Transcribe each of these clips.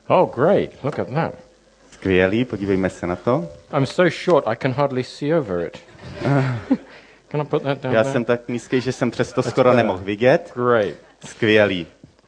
Oh, great. Look at that. Skvělý, podívejme se na to. I'm so short I can hardly see over it. Can I put that down Já there? jsem tak nízký, že jsem přesto skoro nemohl vidět. Great. Skvělý.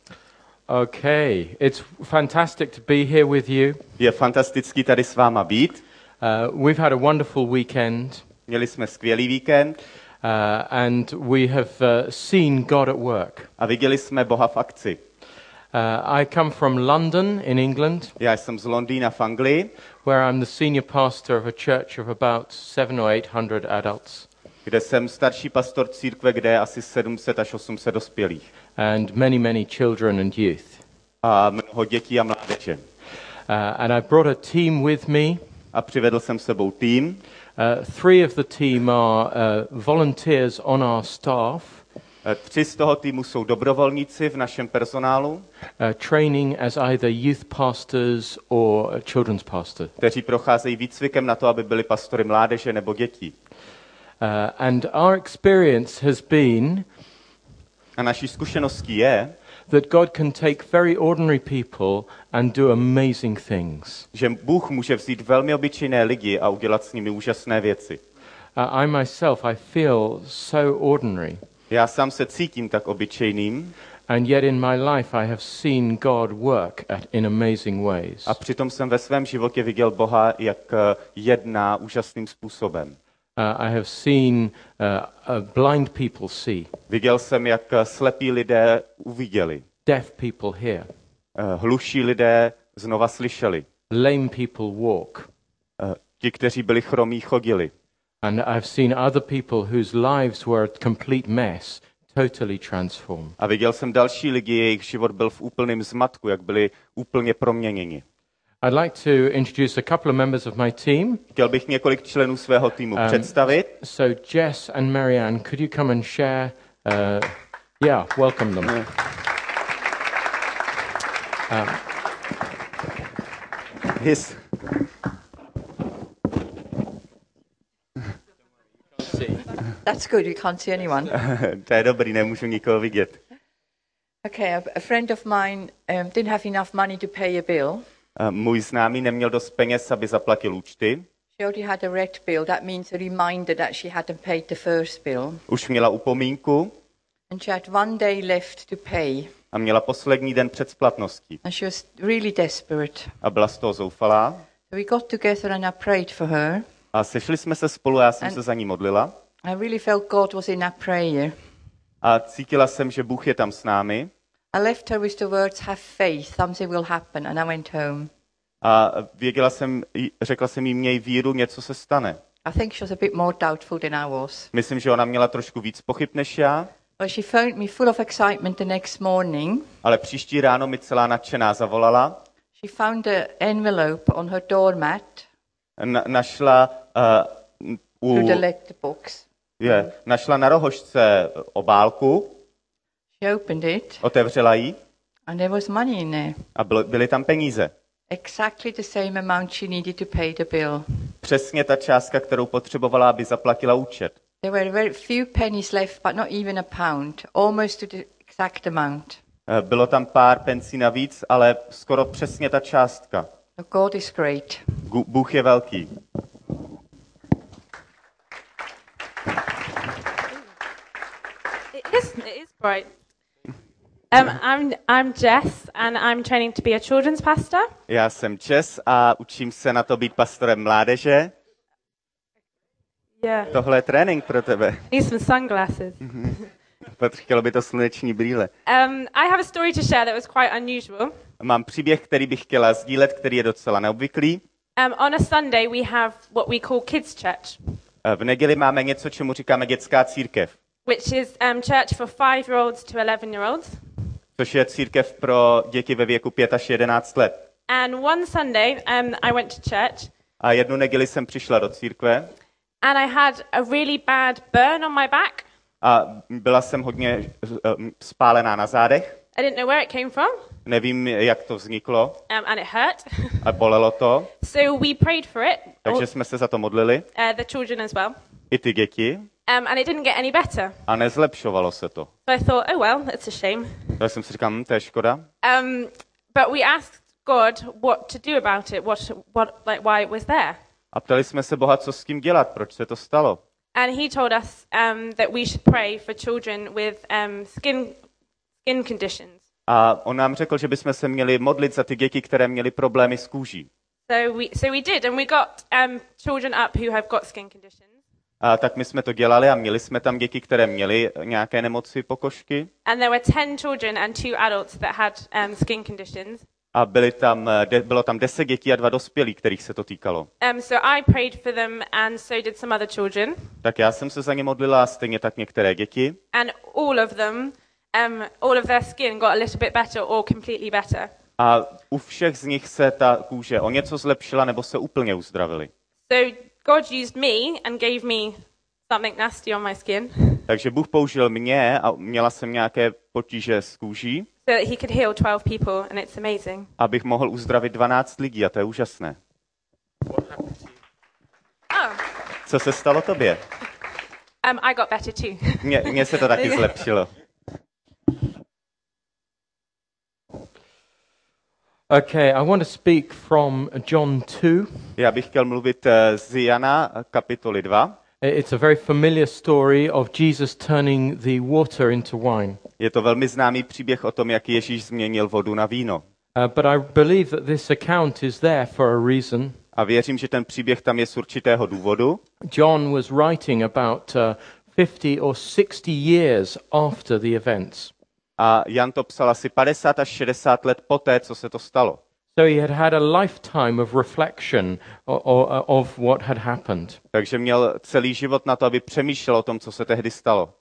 Okay. It's fantastic to be here with you. Je fantastický tady s váma být. We've had a wonderful weekend. Měli jsme skvělý víkend. And we have seen God at work. A viděli jsme Boha v akci. I come from London in England. Já jsem z Londýna v Anglii, where I'm the senior pastor of a church of about 700 or 800 adults. Kde jsem starší pastor církve, kde je asi 700 až 800 dospělých. And many children and youth. A mnoho dětí a mládeže. And I brought a team with me. A přivedl jsem s sebou tým. 3 of the team are volunteers on our staff. 3 z toho týmu jsou dobrovolníci v našem personálu. Training as either youth pastors or children's pastors. Kteří procházejí výcvikem na to, aby byli pastory mládeže nebo dětí. And our experience has been a naší zkušeností je, that God can take very ordinary people and do amazing things. Že Bůh může vzít velmi obyčejné lidi a udělat s nimi úžasné věci. I myself, I feel so ordinary. Já sám se cítím tak obyčejným. And yet in my life I have seen God work in amazing ways. A přitom jsem ve svém životě viděl Boha, jak jedná úžasným způsobem. I have seen blind people see. Viděl jsem, jak slepí lidé uviděli. Deaf people hear. Hluší lidé znova slyšeli. Lame people walk. Ti, kteří byli chromí, chodili. And I've seen other people whose lives were a complete mess, totally transformed. A viděl jsem další lidi, jejich život byl v úplném zmatku, jak byli úplně proměněni. I'd like to introduce a couple of members of my team. Chtěl bych několik členů svého týmu představit. So Jess and Marianne, could you come and share? Welcome them. That's good, you can't see anyone. To je dobrý, nemůžu nikoho vidět. Okay, a friend of mine didn't have enough money to pay a bill. Můj známý neměl dost peněz, aby zaplatil účty. She already had a red bill. That means a reminder that she hadn't paid the first bill. Už měla upomínku. And she had one day left to pay. A měla poslední den před splatností. And she was really desperate. A byla z toho zoufalá. So we got together and I prayed for her. A sešli jsme se spolu a já jsem se za ní modlila. I really felt God was in that prayer. A cítila jsem, že Bůh je tam s námi. I left her with the words, have faith, something will happen, and I went home. A řekla jsem jí, měj víru, něco se stane. I think she was a bit more doubtful than I was. Myslím, že ona měla trošku víc pochyb než já. Well, she phoned me full of excitement the next morning. Ale příští ráno mi celá nadšená zavolala. She found an envelope on her doormat. Našla našla na rohožce obálku. She opened it. Otevřela ji. And there was money in there. A byly tam peníze. Exactly the same amount she needed to pay the bill. Přesně ta částka, kterou potřebovala, aby zaplatila účet. There were very few pennies left, but not even a pound, almost to the exact amount. Bylo tam pár pencí navíc, ale skoro přesně ta částka. God is great. Bůh je velký. It is bright. I'm Jess and I'm training to be a children's pastor. Já jsem Jess a učím se na to být pastorem mládeže. Yeah. Tohle je trénink pro tebe. Need some sunglasses. Chtělo by to sluneční brýle. I have a story to share that was quite unusual. Mám příběh, který bych chtěla sdílet, který je docela neobvyklý. On a Sunday we have what we call kids church. V neděli máme něco, čemu říkáme dětská církev. Which is church for 5-year-olds to 11-year-olds. Což je církev pro děti ve věku 5 až 11 let. And one Sunday I went to church. A jednu neděli jsem přišla do církve. And I had a really bad burn on my back. A byla jsem hodně spálená na zádech. I didn't know where it came from. Nevím, jak to vzniklo. And it hurt. A bolelo to. So we prayed for it. Takže jsme se za to modlili. The children as well. I ty děti. And it didn't get any better. A nezlepšovalo se to. So I thought, oh well, it's a shame. Tak jsem si říkal, to je škoda. But we asked God what to do about it, why it was there. A ptali jsme se Boha, co s tím dělat, proč se to stalo. And he told us that we should pray for children with skin conditions. A on nám řekl, že bychom se měli modlit za ty děti, které měly problémy s kůží. So we did, and we got children up who have got skin conditions. A tak my jsme to dělali a měli jsme tam děti, které měly nějaké nemoci pokožky. And there were 10 children and 2 adults that had skin conditions. A bylo tam 10 dětí a 2 dospělí, kterých se to týkalo. So I prayed for them, and so did some other children. Tak já jsem se za ně modlila, stejně tak některé děti. And all of them, all of their skin got a little bit better or completely better. A u všech z nich se ta kůže o něco zlepšila nebo se úplně uzdravili. So God used me and gave me something nasty on my skin. Takže Bůh použil mě a měla jsem nějaké potíže s kůží. So that he could heal 12 people, and it's amazing. Abych mohl uzdravit 12 lidí a to je úžasné. Oh. Co se stalo tobě? I got better too. Mně se to taky zlepšilo. Okay, I want to speak from John 2. Já bych chtěl mluvit z Jana kapitoly 2. It's a very familiar story of Jesus turning the water into wine. Je to velmi známý příběh o tom, jak Ježíš změnil vodu na víno. But I believe that this account is there for a reason. A věřím, že ten příběh tam je z určitého důvodu. John was writing about 50 or 60 years after the events. A Jan to psal asi 50 až 60 let poté, co se to stalo. So he had a lifetime of reflection of what had happened. Takže měl celý život na to, aby přemýšlel o tom, co se tehdy stalo.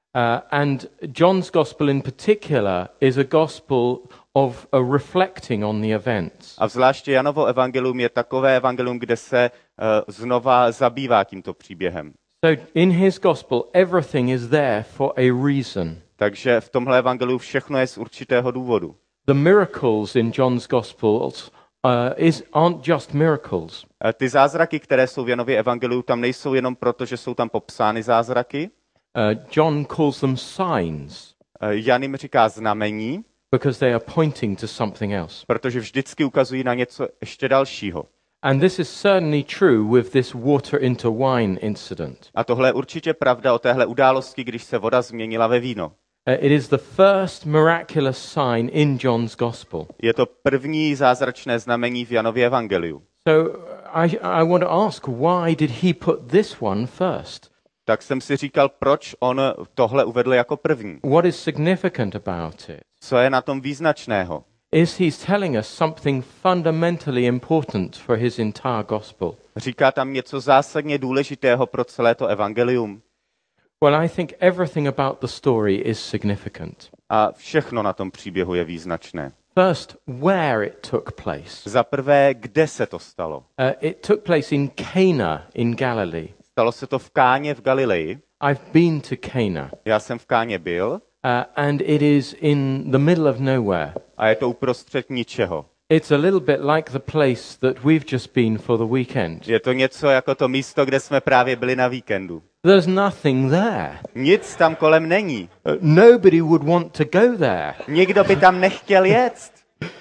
And John's gospel in particular is a gospel of reflecting on the events. A zvláště Janovo evangelium je takové evangelium, kde se znova zabývá tímto příběhem. So in his gospel everything is there for a reason. Takže v tomhle evangeliu všechno je z určitého důvodu. The miracles in John's Gospels aren't just miracles. Ty zázraky, které jsou v Janově evangeliu, tam nejsou jenom proto, že jsou tam popsány zázraky. John calls them signs. Jan jim říká znamení, because they are pointing to something else. Protože vždycky ukazují na něco ještě dalšího. And this is certainly true with this water into wine incident. A tohle je určitě pravda o téhle události, když se voda změnila ve víno. It is the first miraculous sign in John's Gospel. Je to první zázračné znamení v Janově evangeliu. So I want to ask, why did he put this one first? Tak jsem si říkal, proč on tohle uvedl jako první. What is significant about it? Co je na tom význačného? Is he telling us something fundamentally important for his entire gospel? Říká tam něco zásadně důležitého pro celé to evangelium? Well, I think everything about the story is significant. A všechno na tom příběhu je význačné. First, where it took place. Za prvé, kde se to stalo? It took place in Cana in Galilee. Stalo se to v Káně v Galileji. I've been to Cana. Já jsem v Káně byl. And it is in the middle of nowhere. A je to uprostřed ničeho. It's a little bit like the place that we've just been for the weekend. Je to něco jako to místo, kde jsme právě byli na víkendu. There's nothing there. Nic tam kolem není. Nobody would want to go there. Nikdo by tam nechtěl jet.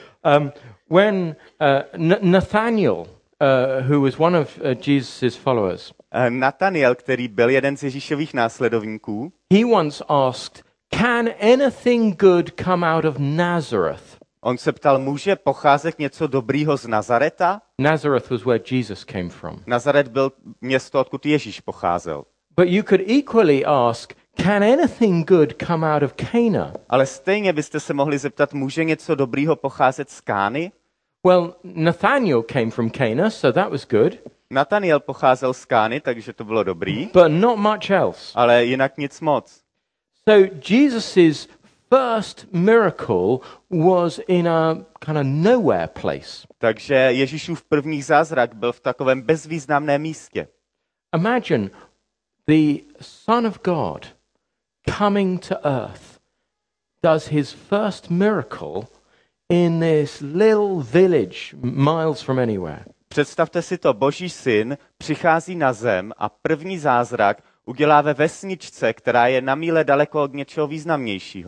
When Nathaniel, who was one of Jesus' followers, Nathaniel, který byl jeden z Ježíšových následovníků, he once asked, "Can anything good come out of Nazareth?" On se ptal, může pocházet něco dobrýho z Nazareta? Nazareth was where Jesus came from. Nazaret byl město, odkud Ježíš pocházel. But you could equally ask, can anything good come out of Cana? Ale stejně byste se mohli zeptat, může něco dobrýho pocházet z Kány? Well, Nathaniel came from Cana, so that was good. Nathaniel pocházel z Kány, takže to bylo dobrý. But not much else. Ale jinak nic moc. So Jesus's first miracle was in a kind of nowhere place. Takže Ježíšův první zázrak byl v takovém bezvýznamném místě. Imagine the Son of God coming to earth does his first miracle in this little village miles from anywhere. Představte si to, Boží syn přichází na zem a první zázrak udělá ve vesničce, která je na míle daleko od něčeho významnějšího.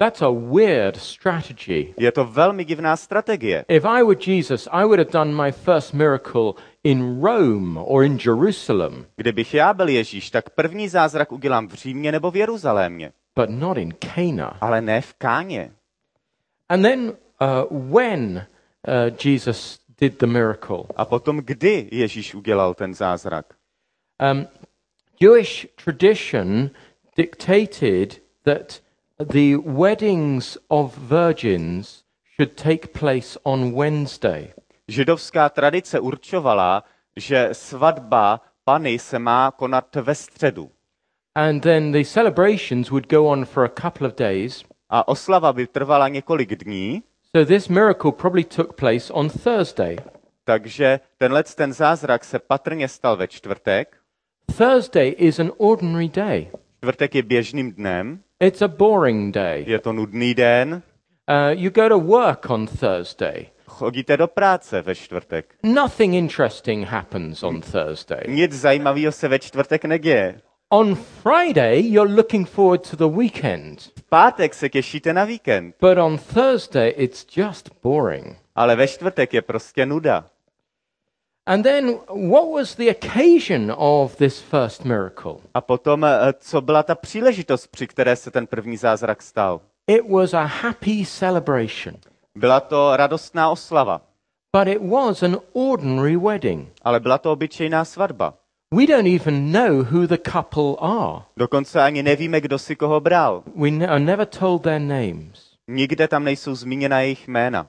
That's a weird strategy. Je to velmi divná strategie. If I were Jesus, I would have done my first miracle in Rome or in Jerusalem, Kdybych já byl Ježíš, tak první zázrak udělám v Římě nebo v Jeruzalémě, but not in Cana. ale ne v Káně. And then when Jesus did the miracle, A potom kdy Ježíš udělal ten zázrak? Jewish tradition dictated that the weddings of virgins should take place on Wednesday. Židovská tradice určovala, že svatba Panny se má konat ve středu. And then the celebrations would go on for a couple of days. A oslava by trvala několik dní, So this miracle probably took place on Thursday. takže ten zázrak se patrně stal ve čtvrtek. Thursday is an ordinary day. Čtvrtek je běžným dnem, It's a boring day. je to nudný den. You go to work on Thursday. Chodíte do práce ve čtvrtek. Nothing interesting happens on Thursday. Nic zajímavého se ve čtvrtek neděje. On Friday, you're looking forward to the weekend. V pátek se těšíte na víkend, But on Thursday, it's just boring. ale ve čtvrtek je prostě nuda. And then, what was the occasion of this first miracle? A potom, co byla ta příležitost, při které se ten první zázrak stal? It was a happy celebration. Byla to radostná oslava, But it was an ordinary wedding. ale byla to obyčejná svatba. We don't even know who the couple are. Dokonce ani nevíme, kdo si koho bral. We are never told their names. Nikde tam nejsou zmíněna jejich jména.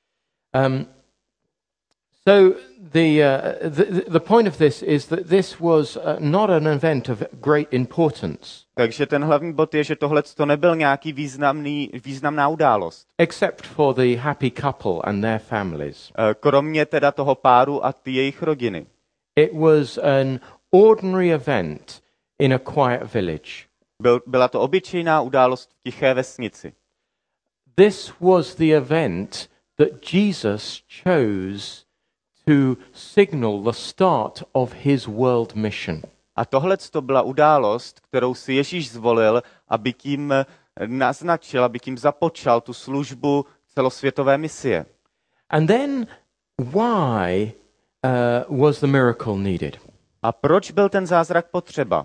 So the point of this is that this was not an event of great importance, Takže ten hlavní bod je, že tohle to nebyl nějaký významná událost. except for the happy couple and their families. Kromě teda toho páru a ty jejich rodiny. It was an ordinary event in a quiet village. Byla to obyčejná událost v tiché vesnici. This was the event that Jesus chose to signal the start of his world mission. A tohle to byla událost, kterou si Ježíš zvolil, aby tím naznačil, aby tím započal tu službu celosvětové misie. And then why was the miracle needed? A proč byl ten zázrak potřeba?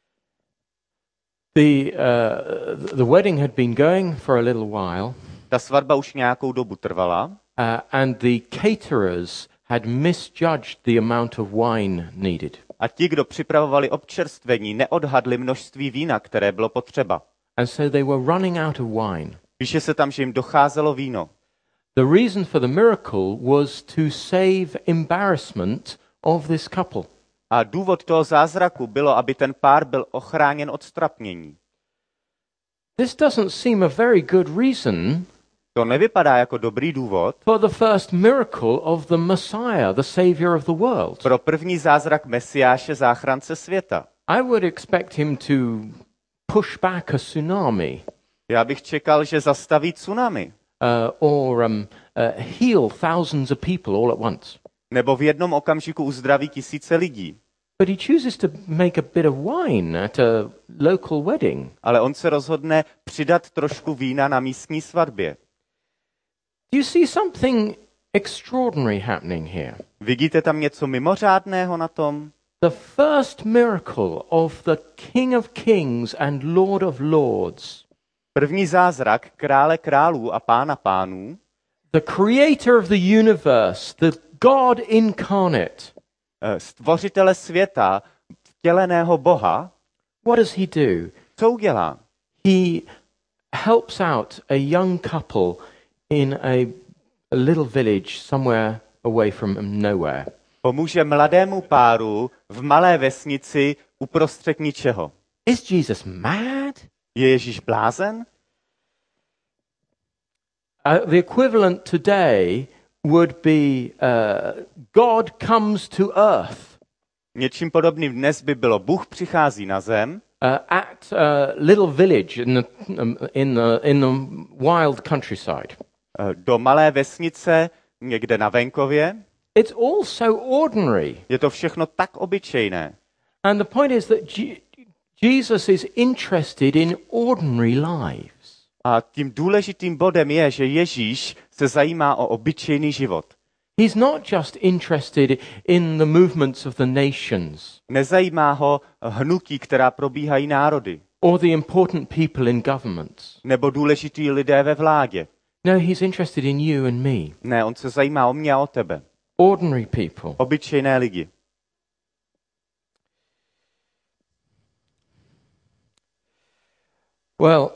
The wedding had been going for a little while, Ta svatba už nějakou dobu trvala and the caterers had misjudged the amount of wine needed. a ti, kdo připravovali občerstvení, neodhadli množství vína, které bylo potřeba. And so they were running out of wine. Píše se tam, že jim docházelo víno. The reason for the miracle was to save embarrassment of this couple. A důvod toho zázraku bylo, aby ten pár byl ochráněn od strapnění. This doesn't seem a very good reason To nevypadá jako dobrý důvod for the first miracle of the Messiah, the Savior of the world. pro první zázrak Mesiáše, záchrance světa. I would expect him to push back a tsunami Já bych čekal, že zastaví tsunami. or heal thousands of people all at once. Nebo v jednom okamžiku uzdraví tisíce lidí. But he chooses to make a bit of wine at a local wedding. Ale on se rozhodne přidat trošku vína na místní svatbě. Do you see something extraordinary happening here? Vidíte tam něco mimořádného na tom? The first miracle of the King of Kings and Lord of Lords, První zázrak krále králů a pána pánů, the creator of the universe, the God incarnate. stvořitele světa, vtěleného Boha, What does he do? co udělá? He helps out a young couple in a little village somewhere away from nowhere. Pomůže mladému páru v malé vesnici uprostřed ničeho. Is Jesus mad? Je Ježíš blázen? The equivalent today would be God comes to earth Něčím podobným dnes by bylo Bůh přichází na zem at a little village in the wild countryside. do malé vesnice někde na venkově. It's all so ordinary. Je to všechno tak obyčejné. And the point is that Jesus is interested in ordinary lives. A tím důležitým bodem je, že Ježíš se zajímá o obyčejný život. He's not just interested in the movements of the nations Nezajímá ho hnutí, která probíhají národy, or the important people in governments. nebo důležitý lidé ve vládě. No, he's interested in you and me, Ne, on se zajímá o mě a o tebe. ordinary people. Obyčejné lidi. Well,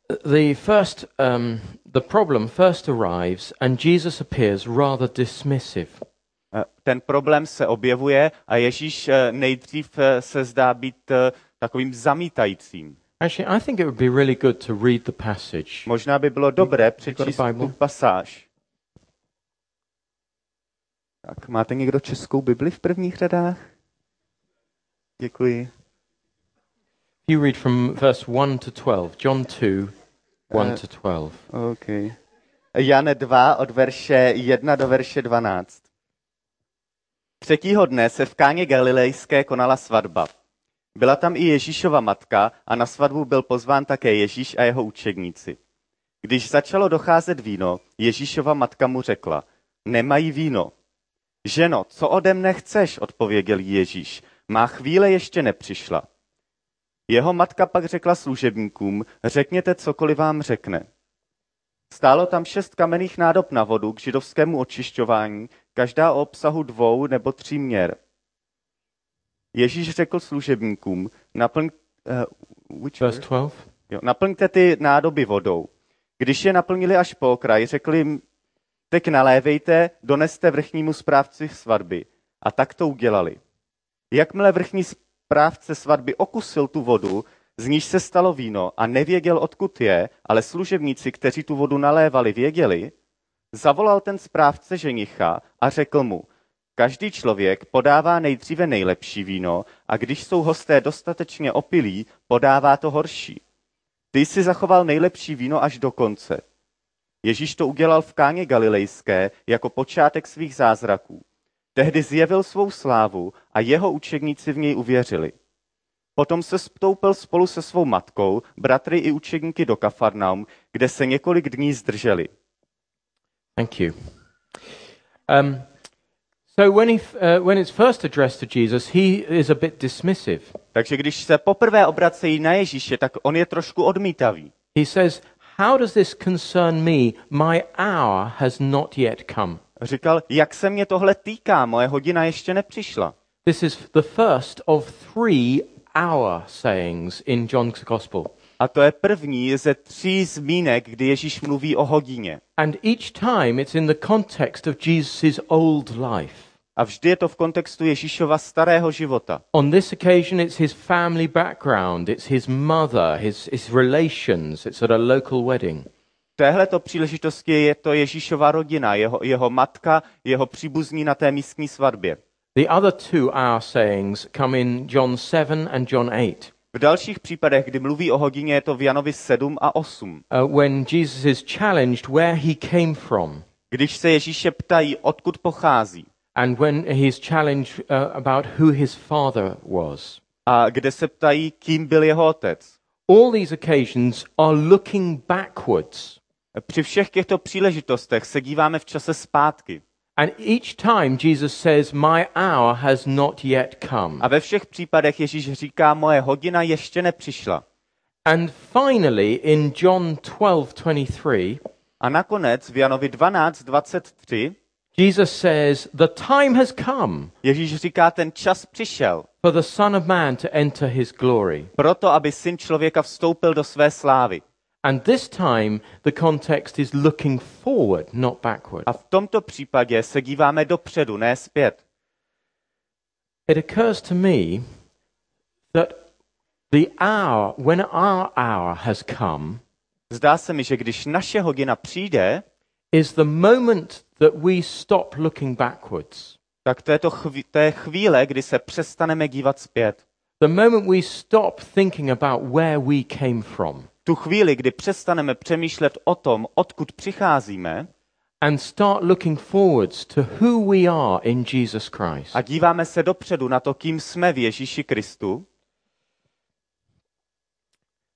the problem first arrives and Jesus appears rather dismissive. Ten problém se objevuje a Ježíš nejdřív se zdá být takovým zamítajícím. Actually, I think it would be really good to read the passage. Možná by bylo dobré got přečíst a Bible? tu pasáž. Tak, máte někdo českou Bibli v prvních řadách? Děkuji. You read from verse 1 to 12. John 2, 1 to 12. Okay. Jan 2 od verše 1 do verše 12. Třetího dne se v Káně Galilejské konala svatba. Byla tam i Ježíšova matka a na svatbu byl pozván také Ježíš a jeho učedníci. Když začalo docházet víno, Ježíšova matka mu řekla, nemají víno. Ženo, co ode mne chceš, odpověděl jí Ježíš, má chvíle ještě nepřišla. Jeho matka pak řekla služebníkům, řekněte cokoliv vám řekne. Stálo tam 6 kamenných nádob na vodu k židovskému očišťování, každá o obsahu 2 nebo 3 měr. Ježíš řekl služebníkům, Verse 12. naplňte ty nádoby vodou. Když je naplnili až po okraj, řekli jim, teď nalévejte, doneste vrchnímu správci svatby. A tak to udělali. Jakmile vrchní správce svatby okusil tu vodu, z níž se stalo víno a nevěděl, odkud je, ale služebníci, kteří tu vodu nalévali, věděli, zavolal ten správce ženicha a řekl mu, každý člověk podává nejdříve nejlepší víno a když jsou hosté dostatečně opilí, podává to horší. Ty jsi zachoval nejlepší víno až do konce. Ježíš to udělal v Káně Galilejské jako počátek svých zázraků. Tehdy zjevil svou slávu a jeho učedníci v něj uvěřili. Potom se stoupil spolu se svou matkou, bratry i učedníky do Kafarnaum, kde se několik dní zdrželi. Thank you. So when it's first addressed to Jesus, he is a bit dismissive. Takže když se poprvé obracejí na Ježíše, tak on je trošku odmítavý. He says, how does this concern me? My hour has not yet come. Říkal, jak se mě tohle týká, moje hodina ještě nepřišla. This is the first of 3 hour sayings in John's Gospel. A to je první ze 3 zmínek, kdy Ježíš mluví o hodině. And each time it's in the context of Jesus' old life. A vždy je to v kontextu Ježíšova starého života. On this occasion it's his family background, it's his mother, his relations, it's at a local wedding. V téhleto příležitosti je to Ježíšova rodina, jeho matka, jeho příbuzní na té místní svatbě. The other 2 hour sayings come in John 7 and John 8. V dalších případech, kdy mluví o hodině, je to v Janovi 7 a 8. When Jesus is challenged where he came from. Když se Ježíše ptají, odkud pochází. And when he is challenged about who his father was. A kde se ptají, kým byl jeho otec. All these occasions are looking backwards. Při všech těchto příležitostech se díváme v čase zpátky. And each time Jesus says, my hour has not yet come. A ve všech případech Ježíš říká, moje hodina ještě nepřišla. And finally in John 12:23, a nakonec v Janovi 12:23 Jesus says, the time has come Ježíš říká, ten čas přišel. for the Son of Man to enter his glory. Proto, aby syn člověka vstoupil do své slávy. And this time the context is looking forward, not backward. A v tomto případě se díváme dopředu, ne zpět. It occurs to me that the hour, when our hour has come, Zdá se mi, že když naše hodina přijde, is the moment that we stop looking backwards. tak to je chvíle, kdy se přestaneme dívat zpět. The moment we stop thinking about where we came from. Tu chvíli, kdy přestaneme přemýšlet o tom, odkud přicházíme, and start looking forwards to who we are in Jesus Christ. a díváme se dopředu na to, kým jsme v Ježíši Kristu,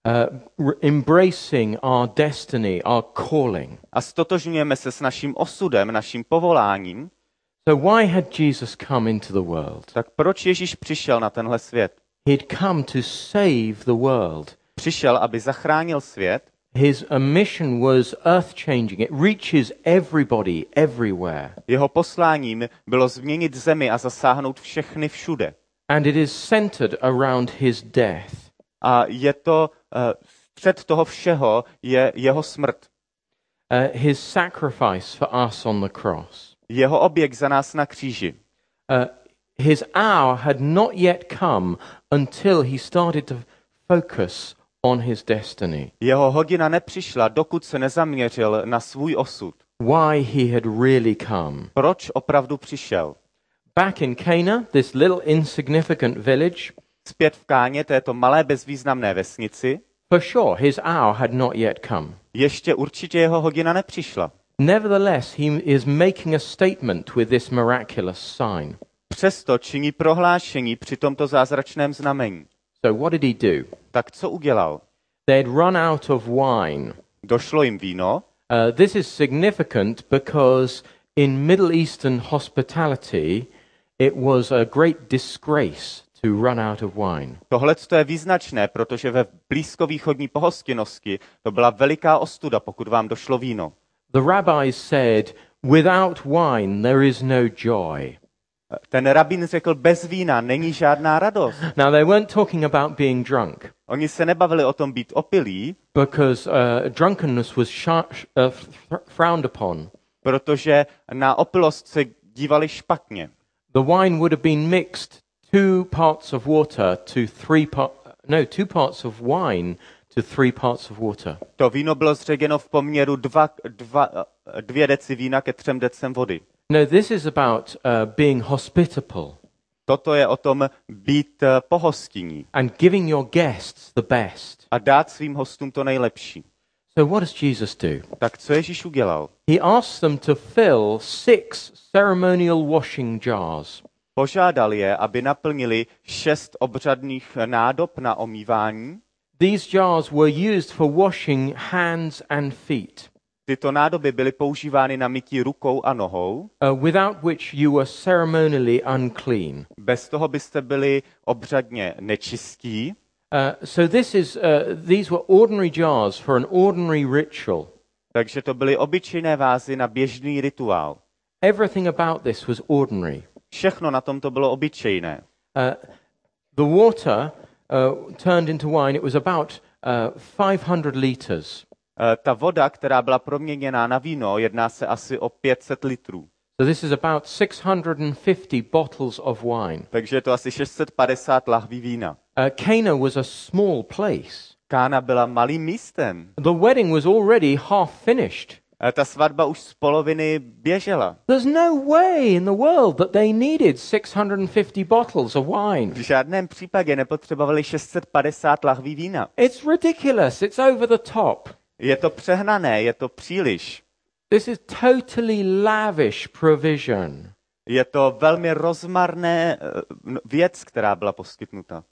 embracing our destiny, our calling. A stotožňujeme se s naším osudem, naším povoláním. So why had Jesus come into the world? Tak proč Ježíš přišel na tenhle svět? He'd come to save the world. Přišel, aby zachránil svět. His mission was earth-changing. It reaches everybody, everywhere. Jeho posláním bylo změnit zemi a zasáhnout všechny všude. And it is centered around his death. A je to střed toho všeho je jeho smrt. His sacrifice for us on the cross. Jeho oběť za nás na kříži. His hour had not yet come until he started to focus on his destiny. Jeho hodina nepřišla, dokud se nezaměřil na svůj osud. Why he had really come. Proč opravdu přišel? Back in Cana, this little insignificant village, Zpět v Káně, této malé bezvýznamné vesnici, for sure his hour had not yet come. ještě určitě jeho hodina nepřišla. Nevertheless, he is making a statement with this miraculous sign. Přesto činí prohlášení při tomto zázračném znamení. So what did he do? Tak co udělal? They'd run out of wine. Došlo jim víno. This is significant because in Middle Eastern hospitality, it was a great disgrace to run out of wine. Tohle je význačné, protože ve blízkovýchodní pohostinnosti to byla veliká ostuda, pokud vám došlo víno. The rabbis said, without wine there is no joy. Ten rabín řekl, bez vína není žádná radost. Now they weren't talking about being drunk, Oni se nebavili o tom být opilí, because drunkenness was frowned upon. protože na opilost se dívali špatně. The wine would have been mixed 2 parts of water to 2 parts of wine to 3 parts of water. To víno bylo zředěno v poměru 2 deci vína ke 3 decem vody. No, this is about being hospitable Toto je o tom být pohostinní and giving your guests the best. a dát svým hostům to nejlepší. So what does Jesus do? Tak co Ježíš udělal? He asks them to fill 6 ceremonial washing jars. Požádal je, aby naplnili 6 obřadných nádob na omývání. These jars were used for washing hands and feet, Tyto nádoby byly používány na mytí rukou a nohou. without which you were ceremonially unclean. Bez toho byste byli obřadně nečistí. So these were ordinary jars for an ordinary ritual. Takže to byly obyčejné vázy na běžný rituál. Everything about this was ordinary. Všechno na tom to bylo obyčejné. The water turned into wine. It was about 500 liters. Ta voda, která byla proměněná na víno, jedná se asi o 500 litrů. So this is about 650 bottles of wine. Takže je to asi 650 lahví vína. Cana was a small place. Kána byla malým místem. The wedding was already half finished. Ta svatba už z poloviny běžela. There's no way in the world that they needed 650 bottles of wine. V žádném případě nepotřebovali 650 lahví vína. It's ridiculous. It's over the top. Je to přehnané, je to příliš. This is totally lavish provision. Je to velmi rozmarné věc, která byla poskytnuta.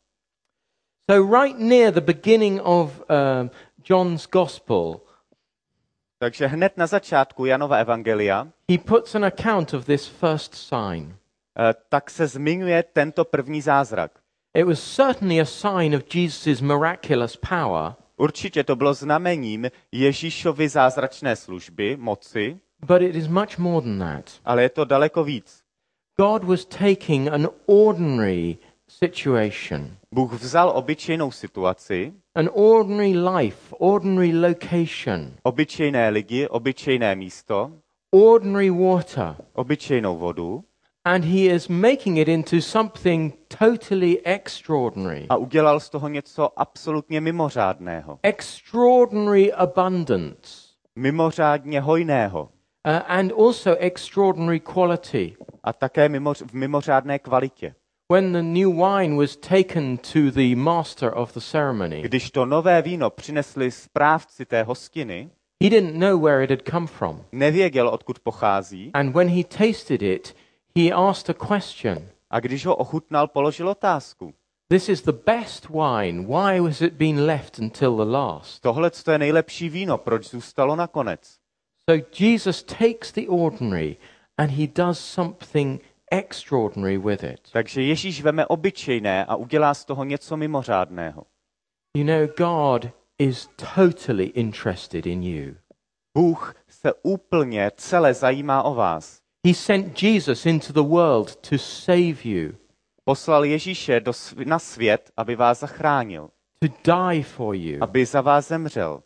So right near the beginning of John's Gospel, Takže hned na začátku Janova evangelia he puts an account of this first sign. tak se zmiňuje tento první zázrak. It was certainly a sign of Jesus' miraculous power, Určitě to bylo znamením Ježíšovy zázračné služby, moci, but it is much more than that. ale je to daleko víc. God was taking an ordinary situation, Bůh vzal obyčejnou situaci, an ordinary life, ordinary location, obyčejné lidi, obyčejné místo, ordinary water, obyčejnou vodu and he is making it into something totally extraordinary. a udělal z toho něco absolutně mimořádného. Extraordinary abundance, Mimořádně hojného and also extraordinary quality. a také v mimořádné kvalitě. When the new wine was taken to the master of the ceremony, Když to nové víno přinesli správci té hostiny, he didn't know where it had come from. nevěděl, odkud pochází, And when he tasted it, he asked a question. a když ho ochutnal, položil otázku. This is the best wine. Why has it been left until the last? Tohle je nejlepší víno, proč zůstalo nakonec? So Jesus takes the ordinary and he does something extraordinary with it. Takže Ježíš veme obyčejné a udělá z toho něco mimořádného. You know, God is totally interested in you. Bůh se úplně celé zajímá o vás. He sent Jesus into the world to save you, Poslal Ježíše na svět, aby vás zachránil, to die for you. aby za vás zemřel.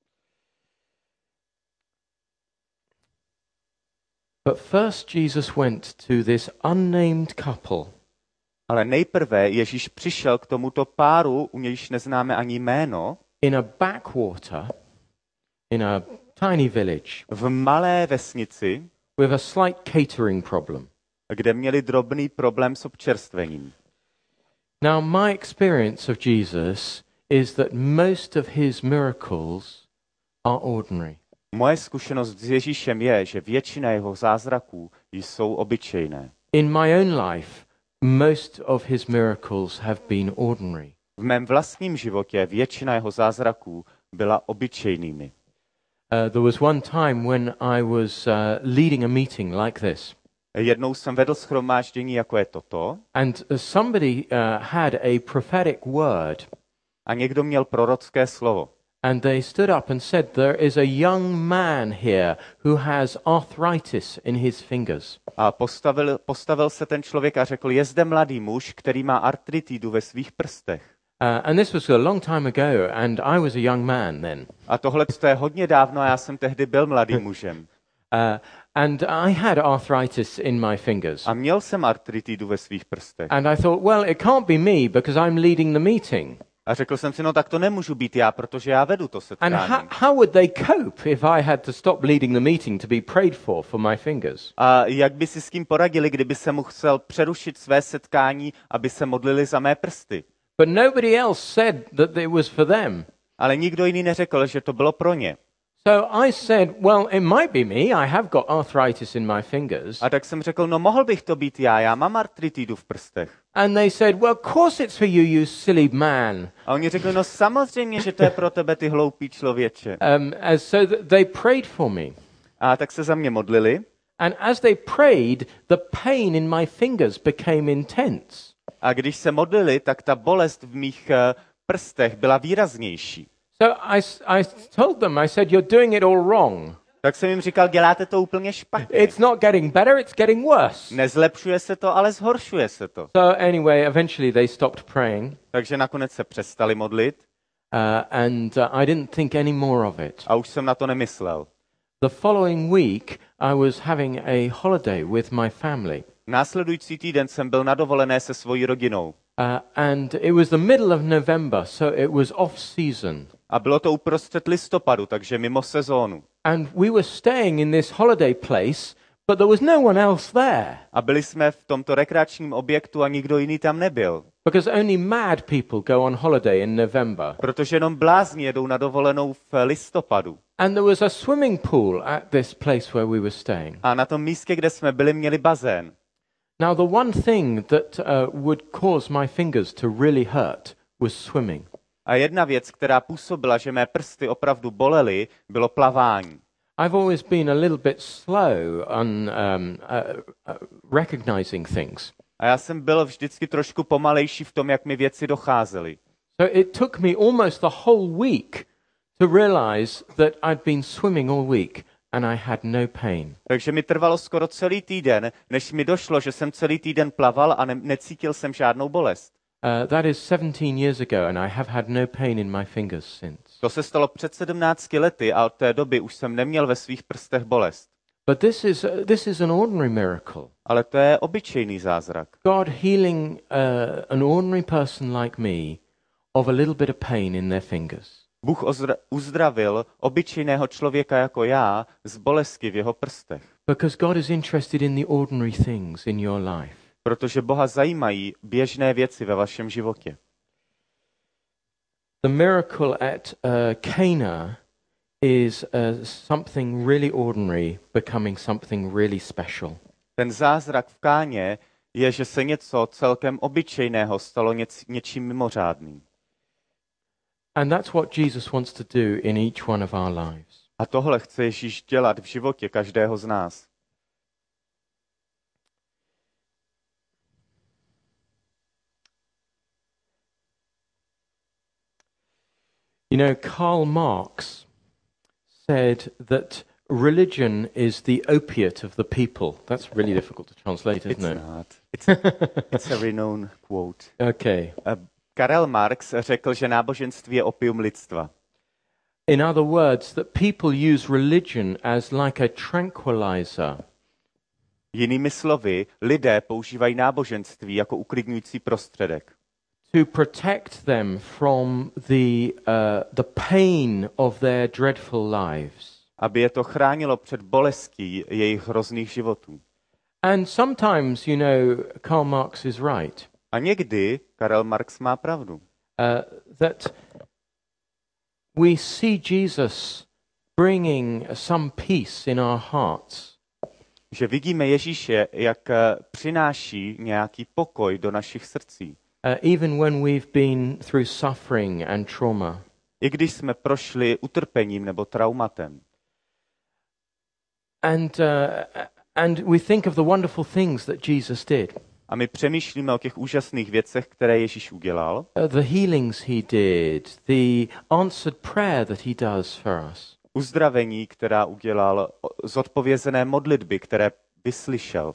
But first Jesus went to this unnamed couple. Ale nejprve Ježíš přišel k tomuto páru, u nějž neznáme ani jméno, In a backwater, in a tiny village, v malé vesnici, with a slight catering problem. kde měli drobný problém s občerstvením. Now, my experience of Jesus is that most of his miracles are ordinary. Moje zkušenost s Ježíšem je, že většina jeho zázraků jsou obyčejné. In my own life, most of his miracles have been ordinary. V mém vlastním životě většina jeho zázraků byla obyčejnými. There was one time when I was leading a meeting like this, Jednou jsem vedl shromáždění, jako je toto, and somebody had a prophetic word, a někdo měl prorocké slovo. and they stood up and said, there is a young man here who has arthritis in his fingers. A postavil se ten člověk a řekl, je zde mladý muž, který má artritidu ve svých prstech. And this was a long time ago, and I was a young man then. A tohle je hodně dávno a já jsem tehdy byl mladým mužem. And I had arthritis in my fingers. A měl jsem artritidu ve svých prstech. And I thought, well, it can't be me because I'm leading the meeting. A řekl jsem si, no tak to nemůžu být já, protože já vedu to And setkání. how would they cope if I had to stop leading the meeting to be prayed for my fingers? A jak by si s tím poradili, kdyby se musel přerušit své setkání, aby se modlili za mé prsty? But nobody else said that it was for them. Ale nikdo jiný neřekl, že to bylo pro ně. So I said, well, it might be me. I have got arthritis in my fingers. A tak jsem řekl, no mohl bych to být já mám artritidu v prstech. And they said, well, of course it's for you, you silly man. A oni řekli, no samozřejmě, že to je pro tebe, ty hloupý člověče. So they prayed for me. A tak se za mě modlili. And as they prayed, the pain in my fingers became intense. A když se modlili, tak ta bolest v mých prstech byla výraznější. So I told them, I said, you're doing it all wrong. Tak jsem jim říkal, děláte to úplně špatně. It's not getting better, it's getting worse. Nezlepšuje se to, ale zhoršuje se to. So anyway, eventually they stopped praying, Takže nakonec se přestali modlit and I didn't think any more of it. a už jsem na to nemyslel. The following week, I was having a holiday with my family. Následující týden jsem byl na dovolené se svojí rodinou. And it was the middle of November, so it was off season. A bylo to uprostřed listopadu, takže mimo sezónu. And we were staying in this holiday place, but there was no one else there. A byli jsme v tomto rekreačním objektu a nikdo jiný tam nebyl. Because only mad people go on holiday in November. Protože jenom blázni jedou na dovolenou v listopadu. And there was a swimming pool at this place where we were staying. A na tom místě, kde jsme byli, měli bazén. Now, the one thing that would cause my fingers to really hurt was swimming. A jedna věc, která působila, že mé prsty opravdu bolely, bylo plavání. I've always been a little bit slow on recognizing things. A já jsem byl vždycky trošku pomalejší v tom, jak mi věci docházely. So it took me almost the whole week to realize that I'd been swimming all week and I had no pain. Takže mi trvalo skoro celý týden, než mi došlo, že jsem celý týden plaval a necítil jsem žádnou bolest. That is 17 years ago and I have had no pain in my fingers since. To se stalo před 17 lety a od té doby už jsem neměl ve svých prstech bolest. But this is an ordinary miracle. Ale to je obyčejný zázrak. God healing an ordinary person like me of a little bit of pain in their fingers. Bůh uzdravil obyčejného člověka jako já z bolesti v jeho prstech. Because God is interested in the ordinary things in your life. Protože Boha zajímají běžné věci ve vašem životě. The miracle at Cana is something really ordinary becoming something really special. Ten zázrak v Káně je, že se něco celkem obyčejného stalo něčím mimořádným. And that's what Jesus wants to do in each one of our lives. A tohle chce Ježíš dělat v životě každého z nás. You know, Karl Marx said that religion is the opiate of the people. That's really difficult to translate, isn't it? It's not. It's a renowned quote. Okay. Karel Marx řekl, že náboženství je opium lidstva. In other words, that people use religion as like a tranquilizer. Jinými slovy, lidé používají náboženství jako uklidňující prostředek. To protect them from the pain of their dreadful lives. Aby je to chránilo před bolestí jejich hrozných životů. And sometimes, you know, Karl Marx is right. A někdy Karel Marx má pravdu. That we see Jesus bringing some peace in our hearts. Že vidíme Ježíše, jak přináší nějaký pokoj do našich srdcí. Even when we've been through suffering and trauma. I když jsme prošli utrpením nebo traumatem. And we think of the wonderful things that Jesus did. A my přemýšlíme o těch úžasných věcech, které Ježíš udělal. The healings he did, the answered prayer that he does for us. Uzdravení, která udělal, zodpovězené modlitby, které vyslyšel.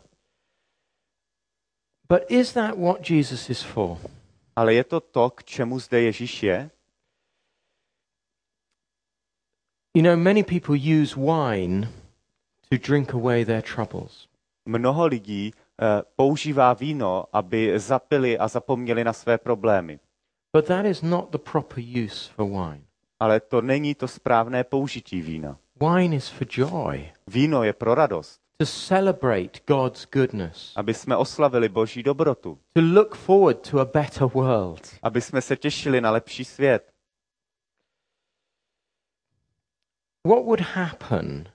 But is that what Jesus is for? Ale je to, k čemu zde Ježíš je? You know, many people use wine to drink away their troubles. Mnoho lidí používá víno, aby zapili a zapomněli na své problémy. But that is not the proper use for wine. Ale to není to správné použití vína. Wine is for joy. Víno je pro radost. To celebrate God's goodness. Aby jsme oslavili Boží dobrotu. To look forward to a better world. Aby jsme se těšili na lepší svět. What would happen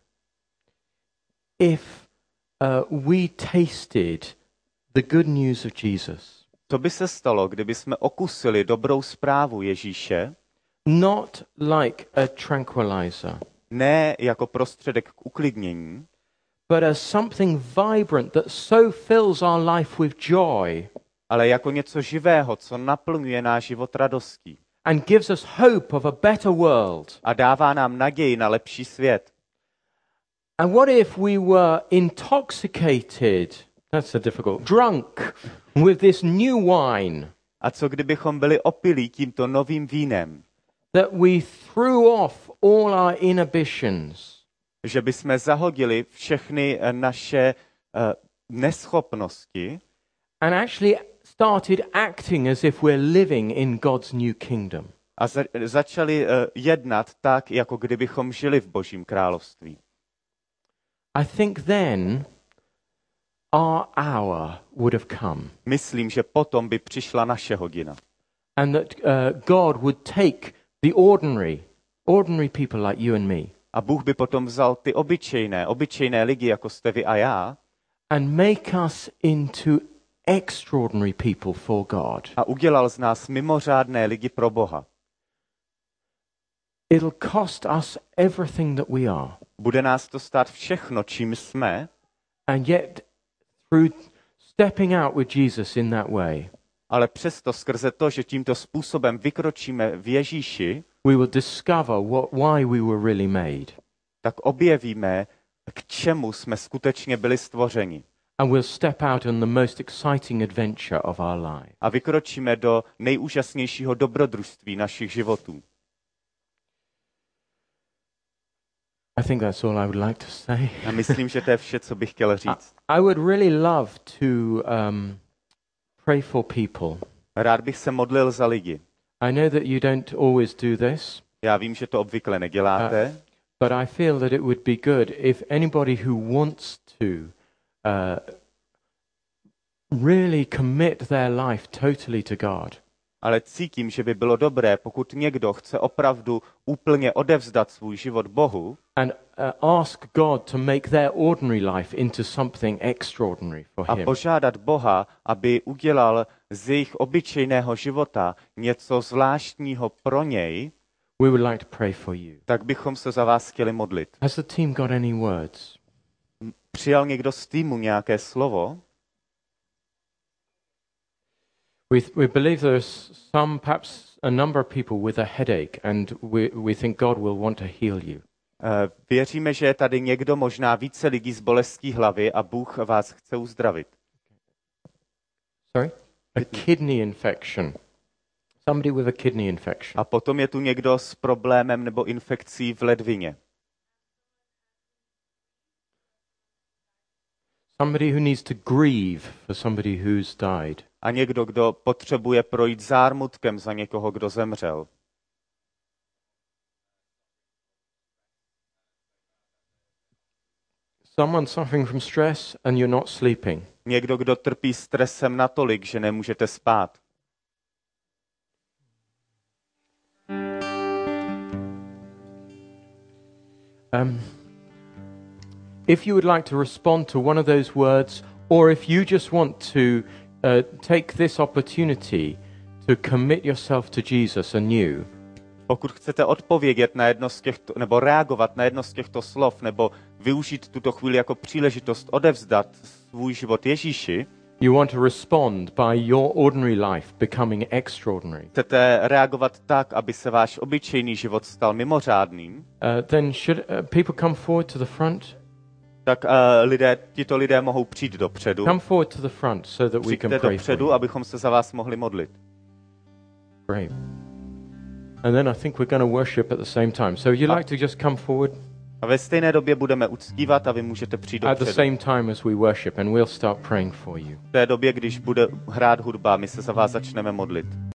if we tasted the good news of Jesus? Co by se stalo, kdyby jsme okusili dobrou zprávu Ježíše? Not like a tranquilizer. Ne jako prostředek k uklidnění, but as something vibrant that so fills our life with joy. Ale jako něco živého, co naplňuje náš život radostí. And gives us hope of a better world. A dává nám naději na lepší svět. And what if we were intoxicated, that's a difficult, drunk with this new wine? A co kdybychom byli opilí tímto novým vínem? That we threw off all our inhibitions. Že bychom zahodili všechny naše neschopnosti and actually started acting as if we're living in God's new kingdom. A začali jednat tak, jako kdybychom žili v Božím království. I think then our hour would have come. Myslím, že potom by přišla naše hodina. And that God would take the ordinary people like you and me. A Bůh by potom vzal ty obyčejné lidi, jako jste vy a já, and make us into extraordinary people for God. A udělal z nás mimořádné lidi pro Boha. It'll cost us everything that we are. Bude nás to stát všechno, čím jsme. And yet, through stepping out with Jesus in that way, ale přesto skrze to, že tímto způsobem vykročíme v Ježíši, we will discover why we were really made. Tak objevíme, k čemu jsme skutečně byli stvořeni. And we'll step out on the most exciting adventure of our life. A vykročíme do nejúžasnějšího dobrodružství našich životů. I think that's all I would like to say. A myslím, že to je vše, co bych chtěl říct. I would really love to pray for people. Rád bych se modlil za lidi. I know that you don't always do this. Já vím, že to obvykle neděláte. But I feel that it would be good if anybody who wants to really commit their life totally to God. Ale cítím, že by bylo dobré, pokud někdo chce opravdu úplně odevzdat svůj život Bohu and ask God to make their ordinary life into something extraordinary for a him. požádat Boha, aby udělal z jejich obyčejného života něco zvláštního pro něj, We would like to pray for you. tak bychom se za vás chtěli modlit. Has the team got any words? Přijal někdo z týmu nějaké slovo? We believe there's perhaps a number of people with a headache, and we think God will want to heal you. Věříme, že je tady někdo, možná více lidí z bolestí hlavy a Bůh vás chce uzdravit. Sorry? A kidney infection. Somebody with a kidney infection. A potom je tu někdo s problémem nebo infekcí v ledvině. Somebody who needs to grieve for somebody who's died. A někdo, kdo potřebuje projít zármutkem za někoho, kdo zemřel. Someone suffering from stress and you're not sleeping. Někdo, kdo trpí stresem natolik, že nemůžete spát. If you would like to respond to one of those words, or if you just want to take this opportunity to commit yourself to Jesus anew, Pokud chcete odpovědět na jedno z těchto, nebo reagovat na jedno z těchto slov, nebo využít tuto chvíli jako příležitost odevzdat svůj život Ježíši, you want to respond by your ordinary life becoming extraordinary, chcete reagovat tak, aby se váš obyčejný život stal mimořádným, then should people come forward to the front? tak tito lidé mohou přijít dopředu. Come forward to the front so that we can Přijďte pray for dopředu, you. abychom se za vás mohli modlit. Great. And then I think we're going to worship at the same time. So you'd like to just come forward A ve stejné době budeme uctívat a vy můžete přijít at the dopředu. same time as we worship, and we'll start praying for you. V té době, když bude hrát hudba, my se za vás začneme modlit.